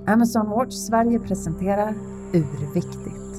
Amazon Watch Sverige presenterar Urviktigt.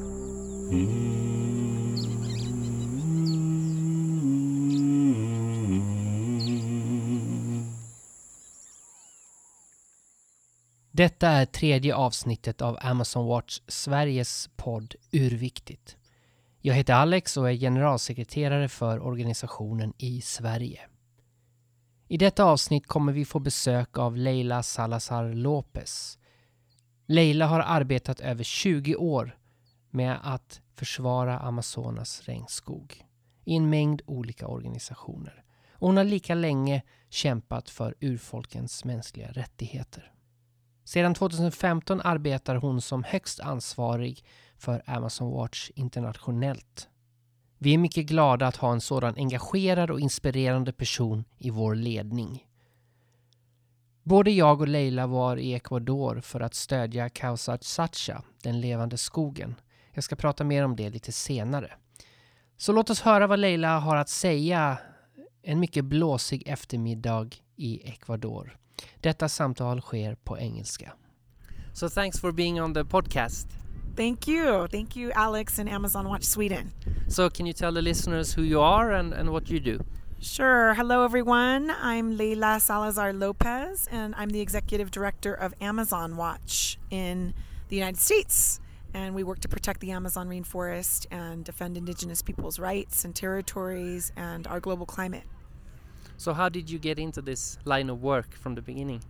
Detta är tredje avsnittet av Amazon Watch Sveriges podd Urviktigt. Jag heter Alex och är generalsekreterare för organisationen i Sverige. I detta avsnitt kommer vi få besök av Leila Salazar Lopez. Leila har arbetat över 20 år med att försvara Amazonas regnskog i en mängd olika organisationer. Och hon har lika länge kämpat för urfolkens mänskliga rättigheter. Sedan 2015 arbetar hon som högst ansvarig för Amazon Watch internationellt. Vi är mycket glada att ha en sådan engagerad och inspirerande person i vår ledning. Både jag och Leila var i Ecuador för att stödja Causa Chacha, den levande skogen. Jag ska prata mer om det lite senare. Så låt oss höra vad Leila har att säga en mycket blåsig eftermiddag i Ecuador. Detta samtal sker på engelska. So thanks for being on the podcast. Thank you Alex and Amazon Watch Sweden. So can you tell the listeners who you are and what you do? Sure. Hello everyone. I'm Leila Salazar Lopez and I'm the executive director of Amazon Watch in the United States. And we work to protect the Amazon rainforest and defend indigenous people's rights and territories and our global climate. So how did you get into this line of work from the beginning?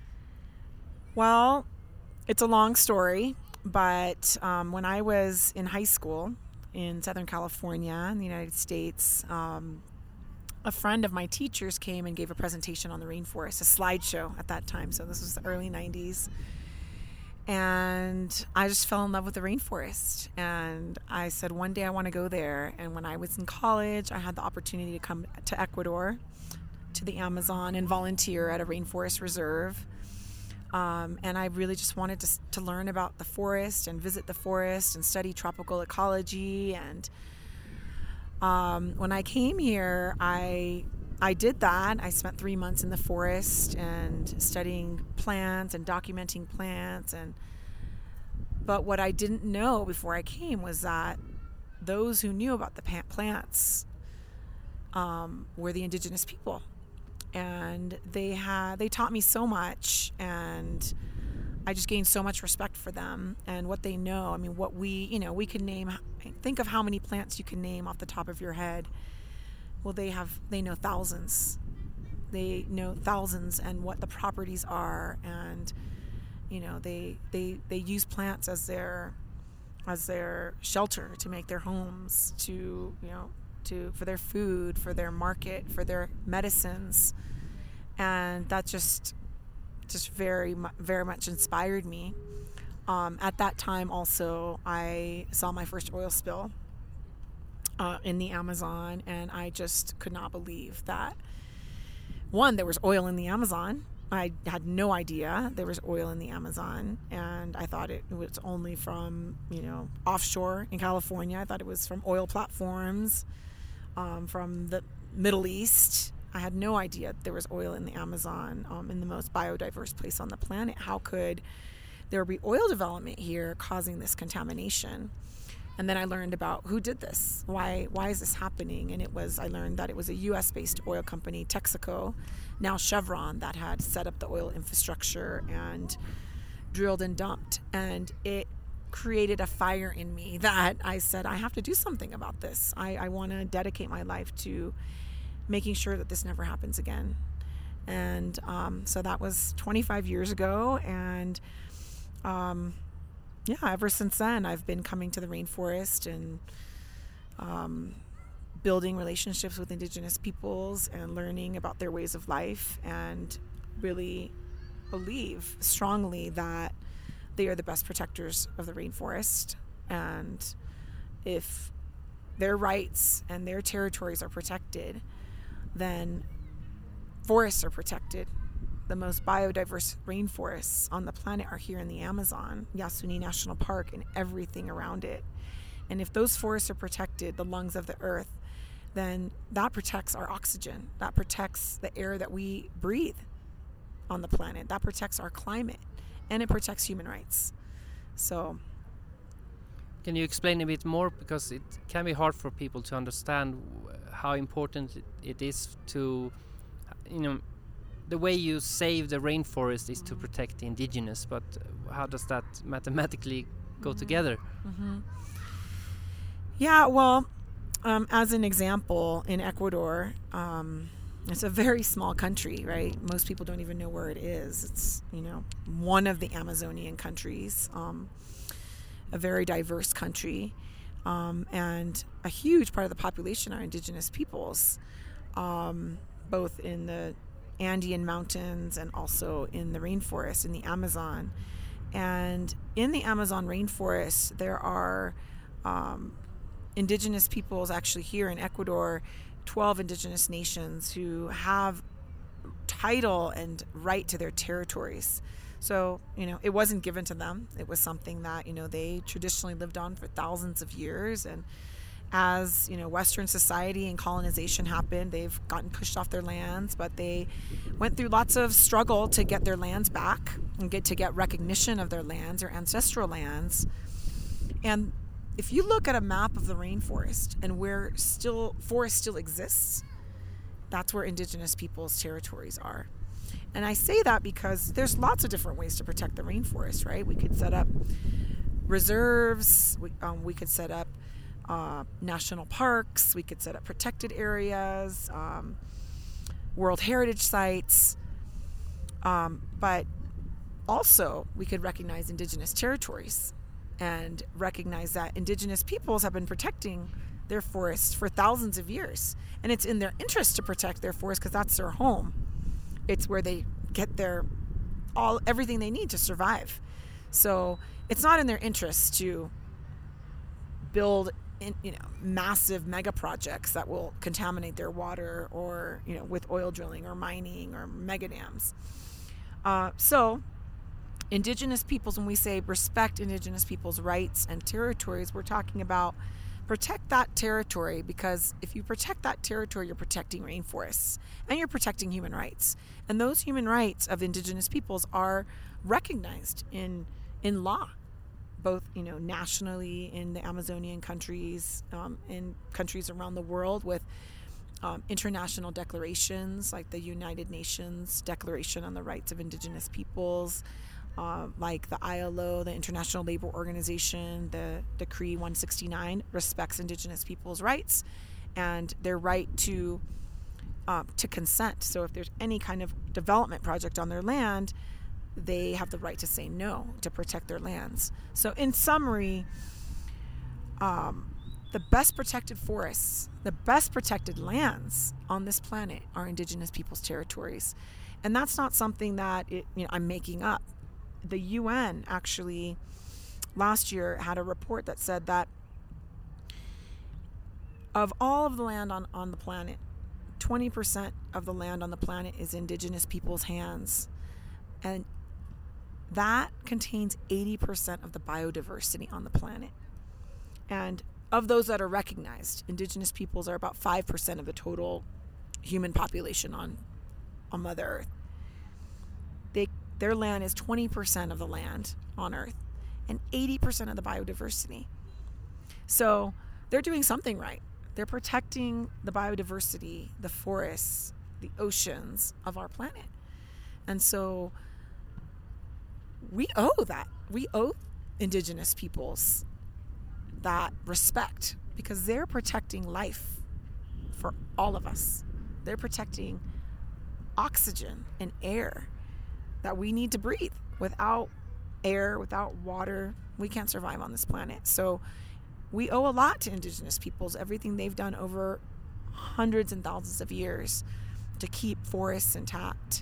Well, it's a long story, but when I was in high school in Southern California in the United States, a friend of my teachers came and gave a presentation on the rainforest, a slideshow at that time. So this was the early 90s. And I just fell in love with the rainforest. And I said, one day I want to go there. And when I was in college, I had the opportunity to come to Ecuador, to the Amazon, and volunteer at a rainforest reserve. And I really just wanted to learn about the forest and visit the forest and study tropical ecology. And when I came here, I did that. I spent 3 months in the forest and studying plants and documenting plants. But what I didn't know before I came was that those who knew about the plants were the indigenous people. And they taught me so much, and I just gained so much respect for them and what they know. I mean, what we can name. Think of how many plants you can name off the top of your head. Well, they know thousands. They know thousands and what the properties are, and they use plants as their shelter to make their homes, for their food, for their market, for their medicines. And that just very, very much inspired me. At that time also, I saw my first oil spill in the Amazon, and I just could not believe that, one, there was oil in the Amazon. I had no idea there was oil in the Amazon, and I thought it was only from, offshore in California. I thought it was from oil platforms from the Middle East. I had no idea there was oil in the Amazon, in the most biodiverse place on the planet. How could there be oil development here causing this contamination? And then I learned about who did this. Why is this happening? And I learned that it was a US-based oil company, Texaco, now Chevron, that had set up the oil infrastructure and drilled and dumped. And it created a fire in me that I said, I have to do something about this. I want to dedicate my life to making sure that this never happens again. And so that was 25 years ago. And ever since then, I've been coming to the rainforest and building relationships with indigenous peoples and learning about their ways of life, and really believe strongly that they are the best protectors of the rainforest. And if their rights and their territories are protected, then forests are protected. The most biodiverse rainforests on the planet are here in the Amazon, Yasuni National Park, and everything around it. And if those forests are protected, the lungs of the earth, then that protects our oxygen. That protects the air that we breathe on the planet. That protects our climate. and it protects human rights. So, can you explain a bit more, because it can be hard for people to understand how important it is to, the way you save the rainforest is to protect the indigenous, but how does that mathematically go together? Yeah, well, as an example, in Ecuador, it's a very small country, right? Most people don't even know where it is. It's, one of the Amazonian countries, a very diverse country, and a huge part of the population are indigenous peoples, both in the Andean mountains and also in the rainforest, in the Amazon. And in the Amazon rainforest, there are indigenous peoples, actually here in Ecuador, 12 indigenous nations who have title and right to their territories. So, it wasn't given to them. It was something that, they traditionally lived on for thousands of years. And as, Western society and colonization happened, they've gotten pushed off their lands, but they went through lots of struggle to get their lands back and to get recognition of their lands, their ancestral lands. And if you look at a map of the rainforest and where forest still exists, that's where indigenous peoples' territories are. And I say that because there's lots of different ways to protect the rainforest, right? We could set up reserves, we could set up national parks, we could set up protected areas, World Heritage sites, but also we could recognize indigenous territories and recognize that indigenous peoples have been protecting their forests for thousands of years. And it's in their interest to protect their forests because that's their home. It's where they get everything they need to survive. So it's not in their interest to build massive mega projects that will contaminate their water, or with oil drilling or mining or mega dams. So indigenous peoples, when we say respect indigenous peoples' rights and territories, we're talking about protect that territory, because if you protect that territory, you're protecting rainforests and you're protecting human rights. And those human rights of indigenous peoples are recognized in law, both nationally in the Amazonian countries, in countries around the world, with international declarations like the United Nations Declaration on the Rights of Indigenous Peoples, like the ILO, the International Labor Organization, the Decree 169 respects indigenous peoples' rights and their right to consent. So if there's any kind of development project on their land, they have the right to say no, to protect their lands. So in summary, the best protected forests, the best protected lands on this planet are indigenous peoples' territories. And that's not something that I'm making up. The UN actually last year had a report that said that of all of the land on the planet, 20% of the land on the planet is indigenous people's hands. And that contains 80% of the biodiversity on the planet. And of those that are recognized, indigenous peoples are about 5% of the total human population on Mother Earth. Their land is 20% of the land on Earth and 80% of the biodiversity. So they're doing something right. They're protecting the biodiversity, the forests, the oceans of our planet. And so we owe that. We owe indigenous peoples that respect, because they're protecting life for all of us. They're protecting oxygen and air that we need to breathe. Without air, without water, we can't survive on this planet. So we owe a lot to indigenous peoples, everything they've done over hundreds and thousands of years to keep forests intact.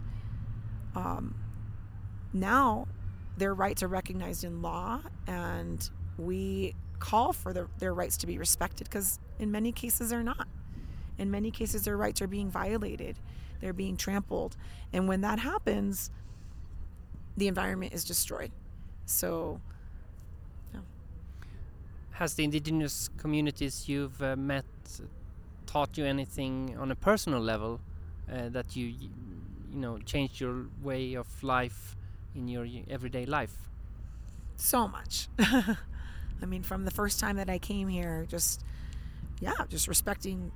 Now their rights are recognized in law, and we call for their rights to be respected, because in many cases they're not. In many cases their rights are being violated. They're being trampled. And when that happens, the environment is destroyed. So, yeah. Has the indigenous communities you've met taught you anything on a personal level that you changed your way of life in your everyday life? So much. I mean, from the first time that I came here, just respecting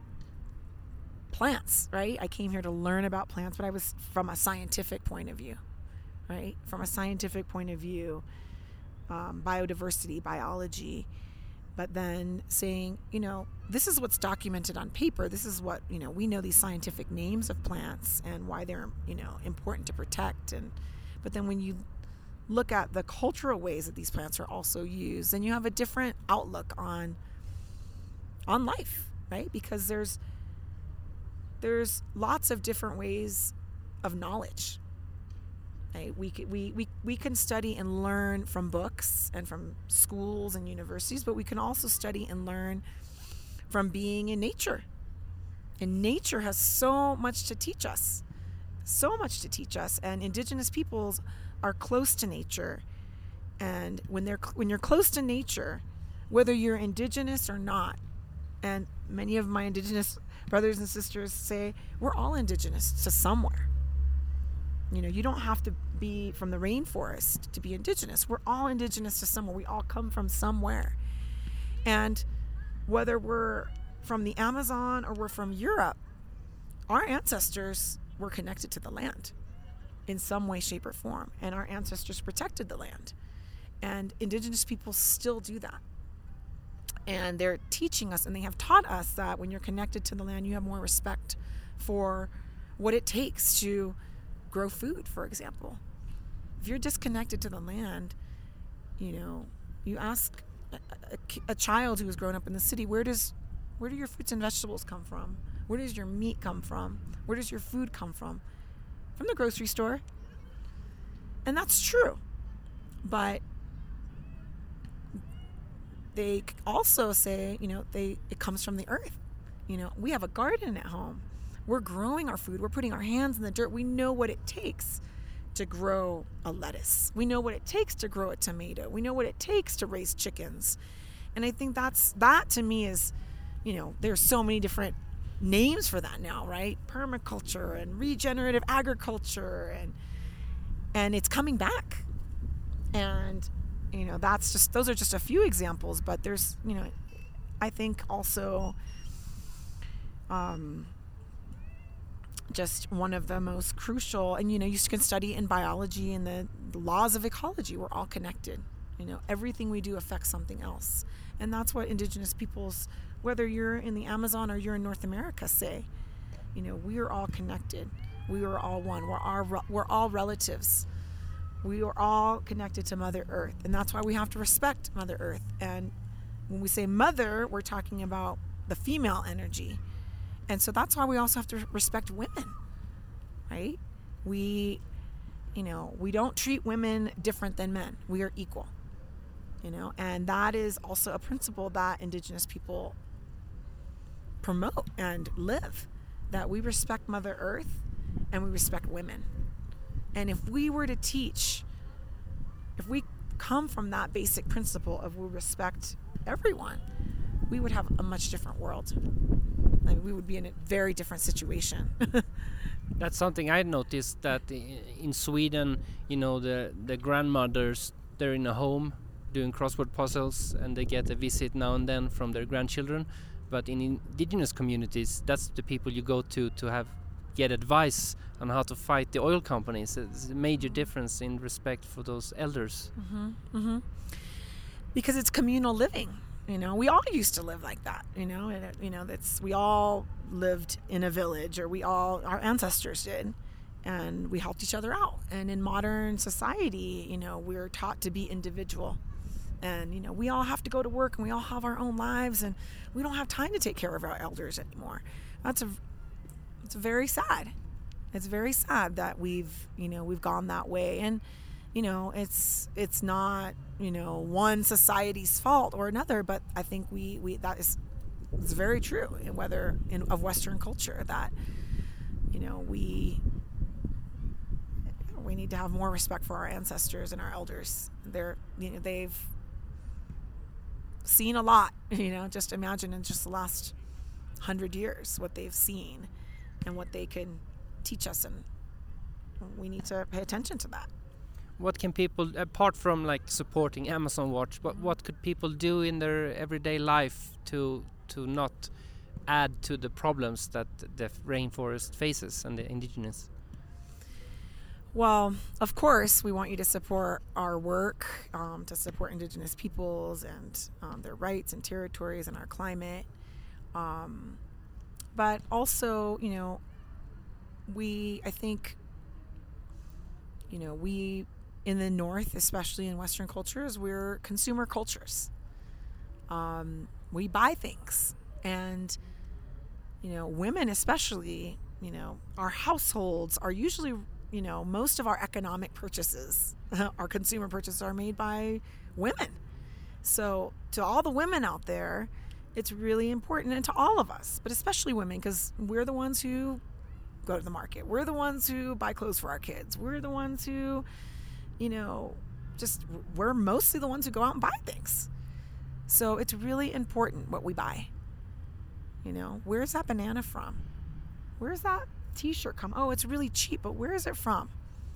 plants, right? I came here to learn about plants, but I was from a scientific point of view, right? From a scientific point of view, biodiversity, biology, but then saying, this is what's documented on paper. This is what, we know these scientific names of plants and why they're, important to protect. But then when you look at the cultural ways that these plants are also used, then you have a different outlook on life, right? Because there's lots of different ways of knowledge. Right? We can study and learn from books and from schools and universities, but we can also study and learn from being in nature. And nature has so much to teach us. And Indigenous peoples are close to nature. And when you're close to nature, whether you're Indigenous or not, and many of my Indigenous brothers and sisters say we're all Indigenous to somewhere. You don't have to be from the rainforest to be Indigenous. We're all Indigenous to somewhere. We all come from somewhere. And whether we're from the Amazon or we're from Europe, our ancestors were connected to the land in some way, shape, or form. And our ancestors protected the land. And Indigenous people still do that. And they're teaching us, and they have taught us that when you're connected to the land, you have more respect for what it takes to grow food, for example. If you're disconnected to the land, you ask a child who has grown up in the city, where do your fruits and vegetables come from? Where does your meat come from? Where does your food come from? From the grocery store. And that's true. But they also say, it comes from the earth. We have a garden at home. We're growing our food. We're putting our hands in the dirt. We know what it takes to grow a lettuce. We know what it takes to grow a tomato. We know what it takes to raise chickens. And I think that to me is, there's so many different names for that now, right? Permaculture and regenerative agriculture, and it's coming back. And, those are just a few examples, but there's, I think also, just one of the most crucial, and you can study in biology and the laws of ecology. We're all connected. Everything we do affects something else, and that's what Indigenous peoples, whether you're in the Amazon or you're in North America, say. We are all connected. We are all one. We're all relatives. We are all connected to Mother Earth, and that's why we have to respect Mother Earth. And when we say mother, we're talking about the female energy. And so that's why we also have to respect women, right? We don't treat women different than men. We are equal, and that is also a principle that Indigenous people promote and live, that we respect Mother Earth and we respect women. And if we were to teach, if we come from that basic principle of we respect everyone, we would have a much different world. We would be in a very different situation. That's something I noticed, that in Sweden, the grandmothers, they're in a home doing crossword puzzles, and they get a visit now and then from their grandchildren. But in Indigenous communities, that's the people you go to get advice on how to fight the oil companies. It's a major difference in respect for those elders. Because it's communal living. We all used to live like that, we all lived in a village, or our ancestors did, and we helped each other out. And in modern society, we're taught to be individual, and, we all have to go to work, and we all have our own lives, and we don't have time to take care of our elders anymore. It's very sad. It's very sad that we've gone that way. And, it's not, one society's fault or another, but I think it's very true, whether of Western culture, that, we need to have more respect for our ancestors and our elders. They've seen a lot, just imagine in just the last 100 years what they've seen and what they can teach us, and we need to pay attention to that. What can people, apart from like supporting Amazon Watch, what could people do in their everyday life to not add to the problems that the rainforest faces and the indigenous? Well, of course, we want you to support our work, to support Indigenous peoples and their rights and territories and our climate. But also, we in the North, especially in Western cultures, we're consumer cultures. We buy things, and women especially, our households are usually, most of our economic purchases, our consumer purchases are made by women. So to all the women out there, it's really important, and to all of us, but especially women, because we're the ones who go to the market. We're the ones who buy clothes for our kids. We're the ones who, we're mostly the ones who go out and buy things. So it's really important what we buy. Where's that banana from? Where's that t-shirt come? Oh, it's really cheap, but where is it from?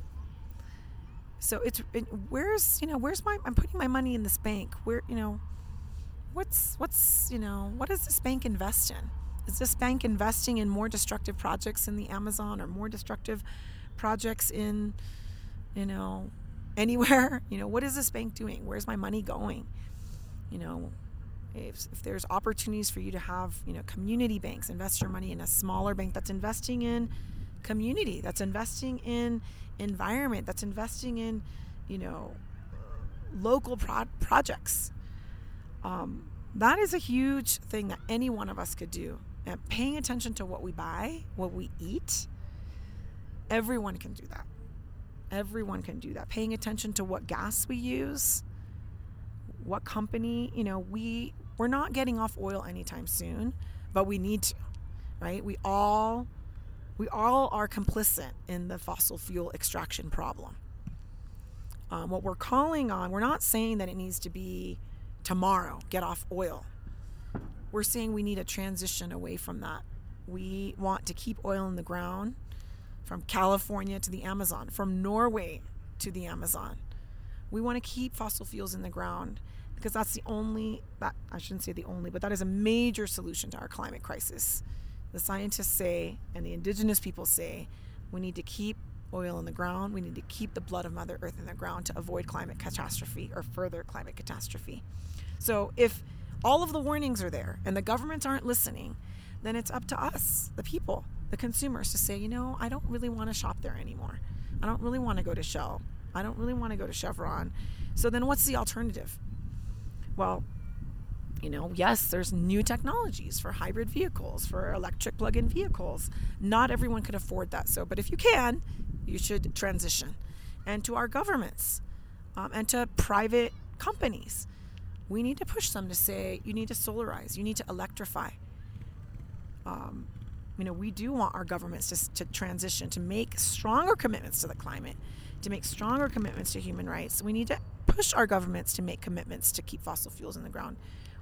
So I'm putting my money in this bank. What does this bank invest in? Is this bank investing in more destructive projects in the Amazon, or more destructive projects in, anywhere? What is this bank doing? Where's my money going? If there's opportunities for you to have, community banks, invest your money in a smaller bank that's investing in community, that's investing in environment, that's investing in, local projects. That is a huge thing that any one of us could do. And paying attention to what we buy, what we eat, everyone can do that. Everyone can do that. Paying attention to what gas we use, what company, we're not getting off oil anytime soon, but we need to, right? We all are complicit in the fossil fuel extraction problem. What we're calling on, we're not saying that it needs to be tomorrow, get off oil. We're saying we need a transition away from that. We want to keep oil in the ground from California to the Amazon, from Norway to the Amazon. We want to keep fossil fuels in the ground because that's I shouldn't say the only, but that is a major solution to our climate crisis. The scientists say, and the indigenous people say, we need to keep oil in the ground. We need to keep the blood of Mother Earth in the ground to avoid climate catastrophe or further climate catastrophe. So if all of the warnings are there and the governments aren't listening, then it's up to us, the people, the consumers, to say, I don't really want to shop there anymore. I don't really want to go to Shell. I don't really want to go to Chevron. So then what's the alternative? Well, yes, there's new technologies for hybrid vehicles, for electric plug-in vehicles. Not everyone can afford that. But if you can, you should transition. And to our governments and to private companies, we need to push them to say, you need to solarize, you need to electrify. We do want our governments to transition, to make stronger commitments to the climate, to make stronger commitments to human rights. We need to push our governments to make commitments to keep fossil fuels in the ground.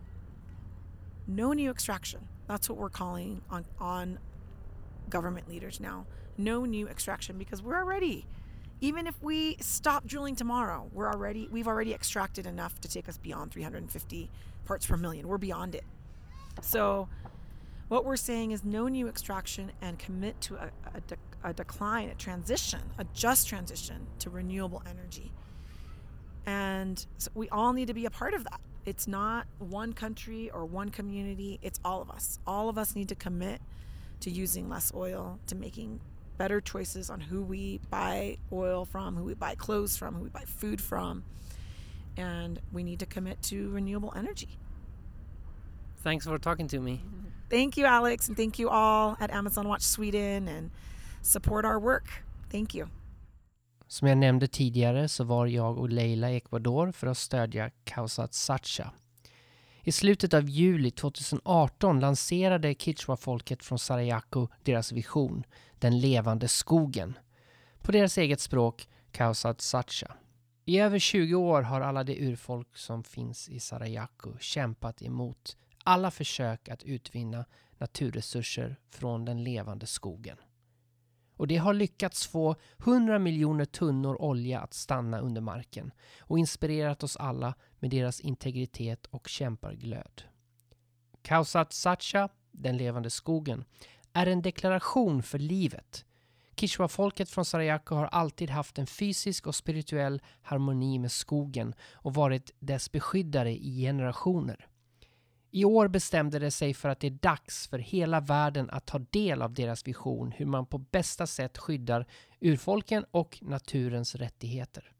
No new extraction. That's what we're calling on government leaders now. No new extraction, because we're already, even if we stop drilling tomorrow, we've already extracted enough to take us beyond 350 parts per million. We're beyond it. So what we're saying is no new extraction, and commit to a decline, a transition, a just transition to renewable energy. And so we all need to be a part of that. It's not one country or one community. It's all of us. All of us need to commit to using less oil, to making better choices on who we buy oil from, who we buy clothes from, who we buy food from. And we need to commit to renewable energy. Thanks for talking to me. Thank you, Alex, and thank you all at Amazon Watch Sweden, and support our work. Thank you. Som jag nämnde tidigare så var jag och Leila i Ecuador för att stödja Causat Sacha. I slutet av juli 2018 lanserade Kichwa-folket från Sarayaku deras vision, den levande skogen. På deras eget språk, Causat Sacha. I över 20 år har alla de urfolk som finns i Sarayaku kämpat emot alla försök att utvinna naturresurser från den levande skogen. och det har lyckats få 100 miljoner tunnor olja att stanna under marken och inspirerat oss alla med deras integritet och kämparglöd. Khaosat Sacha, den levande skogen, är en deklaration för livet. Kichwa-folket från Sarayaku har alltid haft en fysisk och spirituell harmoni med skogen och varit dess beskyddare i generationer. I år bestämde det sig för att det är dags för hela världen att ta del av deras vision hur man på bästa sätt skyddar urfolken och naturens rättigheter.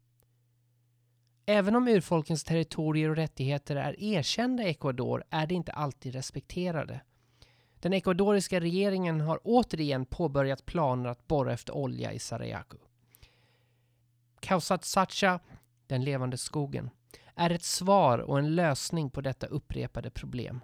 Även om urfolkens territorier och rättigheter är erkända i Ecuador är det inte alltid respekterade. Den ecuadoriska regeringen har återigen påbörjat planer att borra efter olja i Sarayaku. Khaosat Sacha, den levande skogen, är ett svar och en lösning på detta upprepade problem.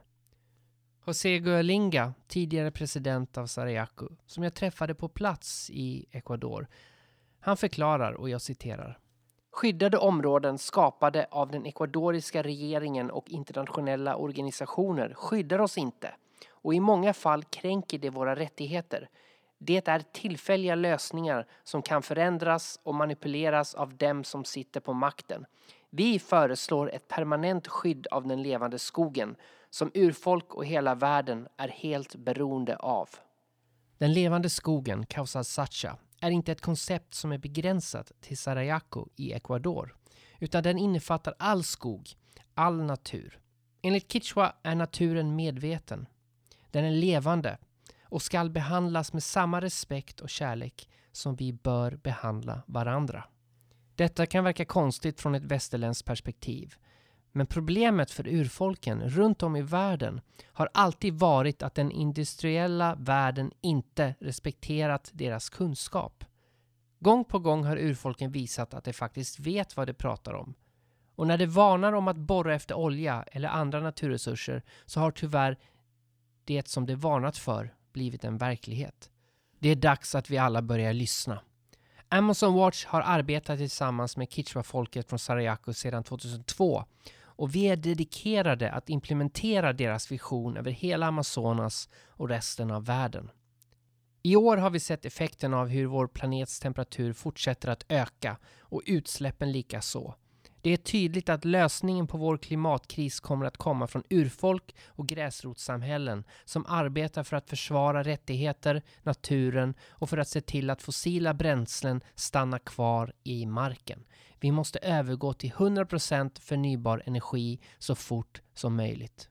José Gualinga, tidigare president av Sarayaku, som jag träffade på plats i Ecuador, han förklarar, och jag citerar: "Skyddade områden skapade av den ecuadoriska regeringen och internationella organisationer skyddar oss inte, och i många fall kränker det våra rättigheter. Det är tillfälliga lösningar som kan förändras och manipuleras av dem som sitter på makten. Vi föreslår ett permanent skydd av den levande skogen som urfolk och hela världen är helt beroende av." Den levande skogen, Khaosat Sacha, är inte ett koncept som är begränsat till Sarayaku i Ecuador, utan den innefattar all skog, all natur. Enligt Kichwa är naturen medveten. Den är levande och ska behandlas med samma respekt och kärlek som vi bör behandla varandra. Detta kan verka konstigt från ett västerländskt perspektiv, men problemet för urfolken runt om i världen har alltid varit att den industriella världen inte respekterat deras kunskap. Gång på gång har urfolken visat att de faktiskt vet vad de pratar om. Och när de varnar om att borra efter olja eller andra naturresurser så har tyvärr det som de varnat för blivit en verklighet. Det är dags att vi alla börjar lyssna. Amazon Watch har arbetat tillsammans med Kichwa-folket från Sarayaku sedan 2002 och vi är dedikerade att implementera deras vision över hela Amazonas och resten av världen. I år har vi sett effekten av hur vår planets temperatur fortsätter att öka och utsläppen lika så. Det är tydligt att lösningen på vår klimatkris kommer att komma från urfolk och gräsrotssamhällen som arbetar för att försvara rättigheter, naturen och för att se till att fossila bränslen stannar kvar i marken. Vi måste övergå till 100% förnybar energi så fort som möjligt.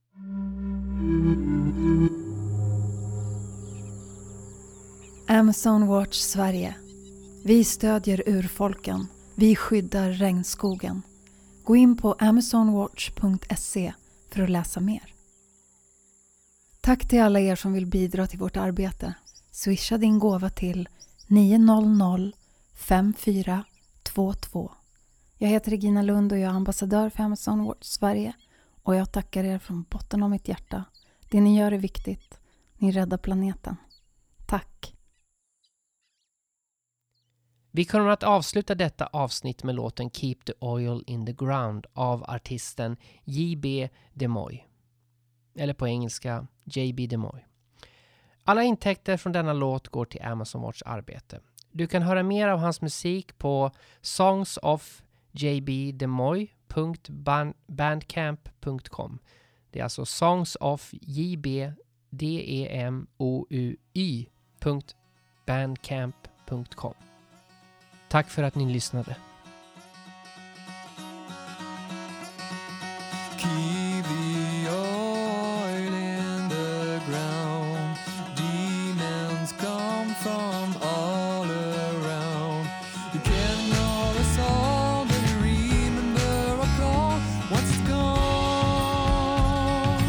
Amazon Watch Sverige. Vi stödjer urfolken. Vi skyddar regnskogen. Gå in på amazonwatch.se för att läsa mer. Tack till alla er som vill bidra till vårt arbete. Swisha din gåva till 900 5422. Jag heter Regina Lund och jag är ambassadör för Amazon Watch Sverige. Och jag tackar er från botten av mitt hjärta. Det ni gör är viktigt. Ni räddar planeten. Tack! Vi kommer att avsluta detta avsnitt med låten Keep the Oil in the Ground av artisten J.B. DeMoy. Eller på engelska J.B. DeMoy. Alla intäkter från denna låt går till Amazon Watch arbete. Du kan höra mer av hans musik på songsofjbdemoy.bandcamp.com. Det är alltså songsofjbdemoy.bandcamp.com. Tack för att ni lyssnade. Keep the oil in the ground. Demons come from all around. You can know us all, but you remember our call once it's gone.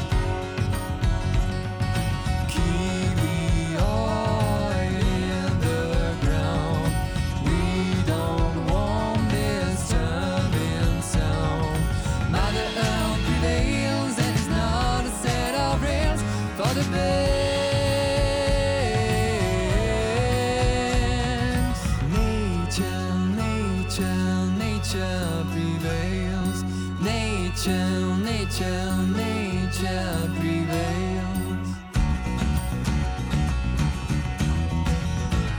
Keep the oil in the ground. We don't want this turbine sound. Mother Earth prevails and it's not a set of rails for the banks. Nature, nature, nature prevails. Nature, nature, nature prevails.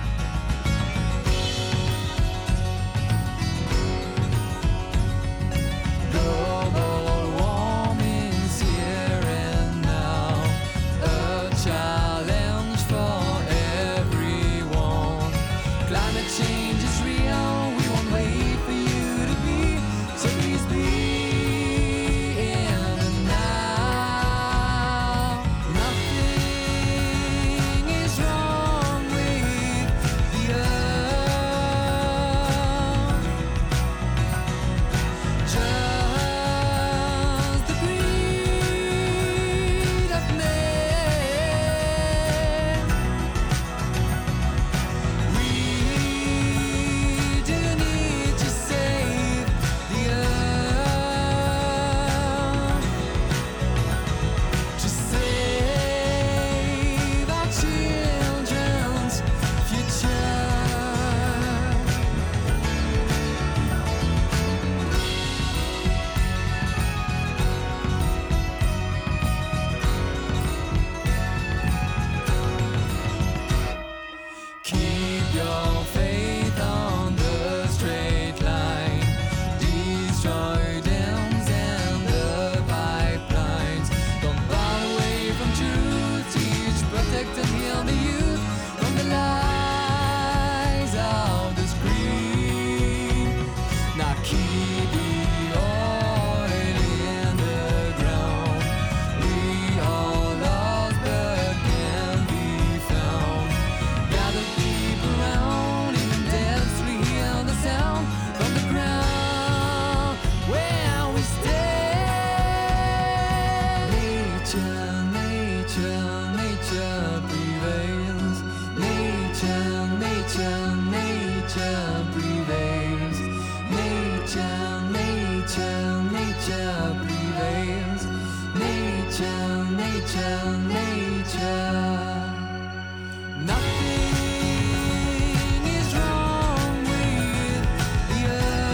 nature prevails. Nature, nature, nature prevails. Nature, nature, nature prevails. Nature, nature, nature. Nothing is wrong with the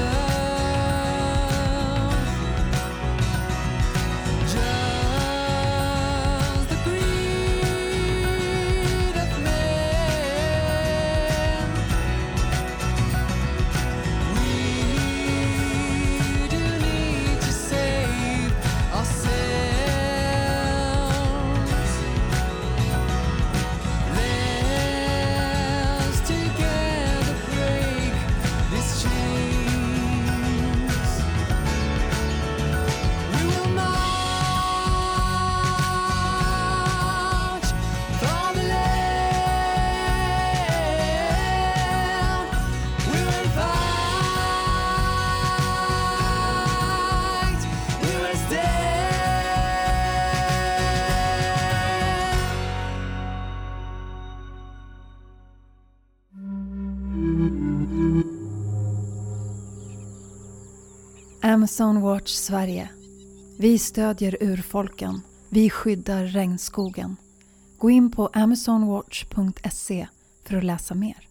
earth. Just the greed of man. We do need to save ourselves. Let's together break these chains. We will march for the land. We will fight. We will stand. Amazon Watch Sverige. Vi stödjer urfolken. Vi skyddar regnskogen. Gå in på amazonwatch.se för att läsa mer.